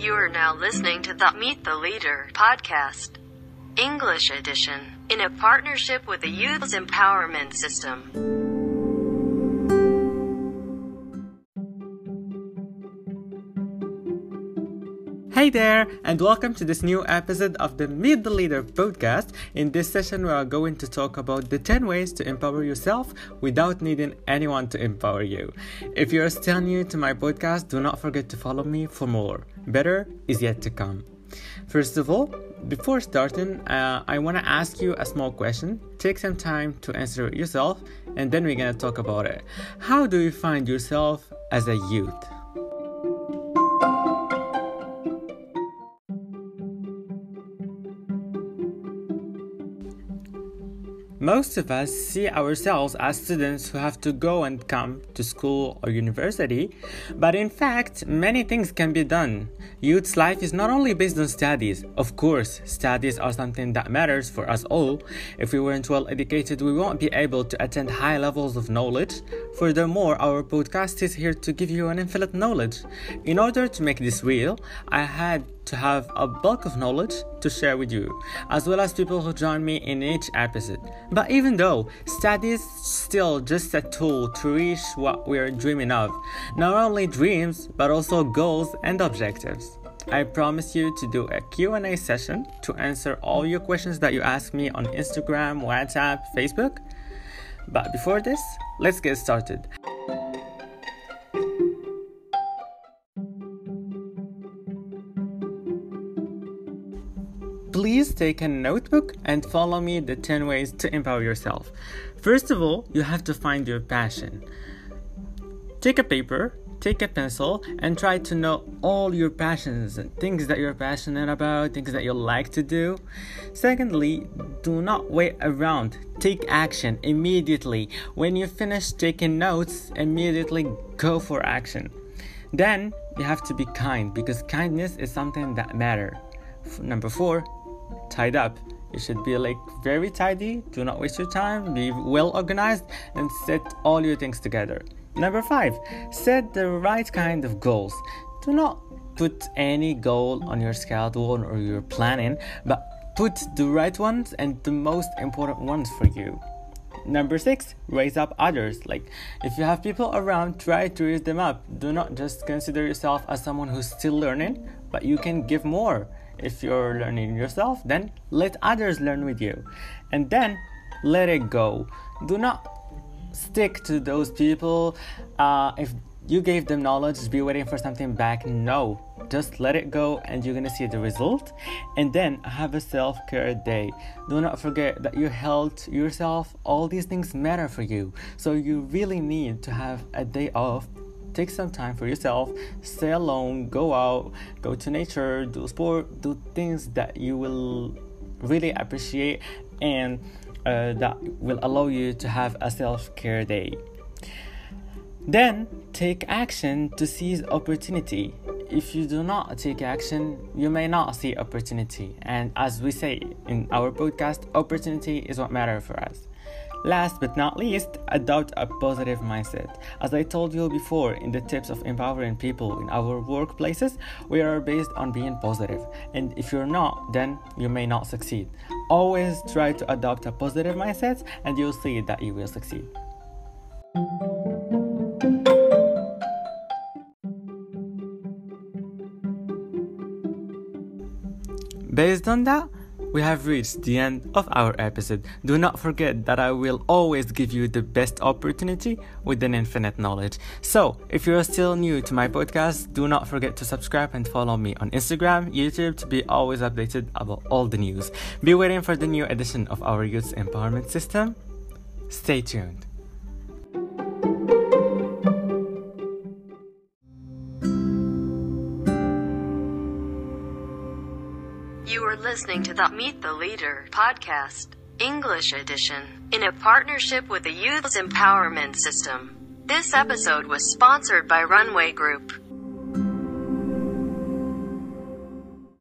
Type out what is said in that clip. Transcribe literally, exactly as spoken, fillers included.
You are now listening to the Meet the Leader podcast, English edition, in a partnership with the Youth Empowerment System. Hey there, and welcome to this new episode of the Meet the Leader podcast. In this session, we are going to talk about the ten ways to empower yourself without needing anyone to empower you. If you're still new to my podcast, do not forget to follow me for more. Better is yet to come. First of all, before starting, uh, I want to ask you a small question. Take some time to answer it yourself, and then we're going to talk about it. How do you find yourself as a youth? Most of us see ourselves as students who have to go and come to school or university, but in fact, many things can be done. Youth's life is not only based on studies. Of course, studies are something that matters for us all. If we weren't well educated, we won't be able to attend high levels of knowledge. Furthermore, our podcast is here to give you an infinite knowledge. In order to make this real, I had to have a bulk of knowledge to share with you, as well as people who join me in each episode. But even though study is still just a tool to reach what we are dreaming of, not only dreams, but also goals and objectives. I promise you to do a Q and A session to answer all your questions that you ask me on Instagram, WhatsApp, Facebook. But before this, let's get started. Please take a notebook and follow me the ten ways to empower yourself. First of all, you have to find your passion. Take a paper, take a pencil, and try to know all your passions and things that you're passionate about, things that you like to do. Secondly, do not wait around. Take action immediately. When you finish taking notes, immediately go for action. Then, you have to be kind, because kindness is something that matters. Number four, tied up. You should be like very tidy. Do not waste your time. Be well organized and set all your things together. Number five, set the right kind of goals. Do not put any goal on your schedule or your planning, but put the right ones and the most important ones for you. Number six, raise up others. Like, if you have people around, try to raise them up. Do not just consider yourself as someone who's still learning, but you can give more. If you're learning yourself, then let others learn with you. And then let it go. Do not stick to those people. Uh, if you gave them knowledge, be waiting for something back. No, just let it go and you're gonna see the result. And then have a self-care day. Do not forget that your health, yourself, all these things matter for you. So you really need to have a day off. Take some time for yourself, stay alone, go out, go to nature, do sport, do things that you will really appreciate and uh, that will allow you to have a self-care day. Then take action to seize opportunity. If you do not take action, you may not see opportunity. And as we say in our podcast, opportunity is what matters for us. Last but not least, adopt a positive mindset. As I told you before in the tips of empowering people in our workplaces, we are based on being positive. And if you're not, then you may not succeed. Always try to adopt a positive mindset and you'll see that you will succeed. Based on that, we have reached the end of our episode. Do not forget that I will always give you the best opportunity with an infinite knowledge. So, if you're still new to my podcast, do not forget to subscribe and follow me on Instagram, YouTube to be always updated about all the news. Be waiting for the new edition of our Youth Empowerment System. Stay tuned. You are listening to the Meet the Leader podcast, English edition, in a partnership with the Youth Empowerment System. This episode was sponsored by Runway Group.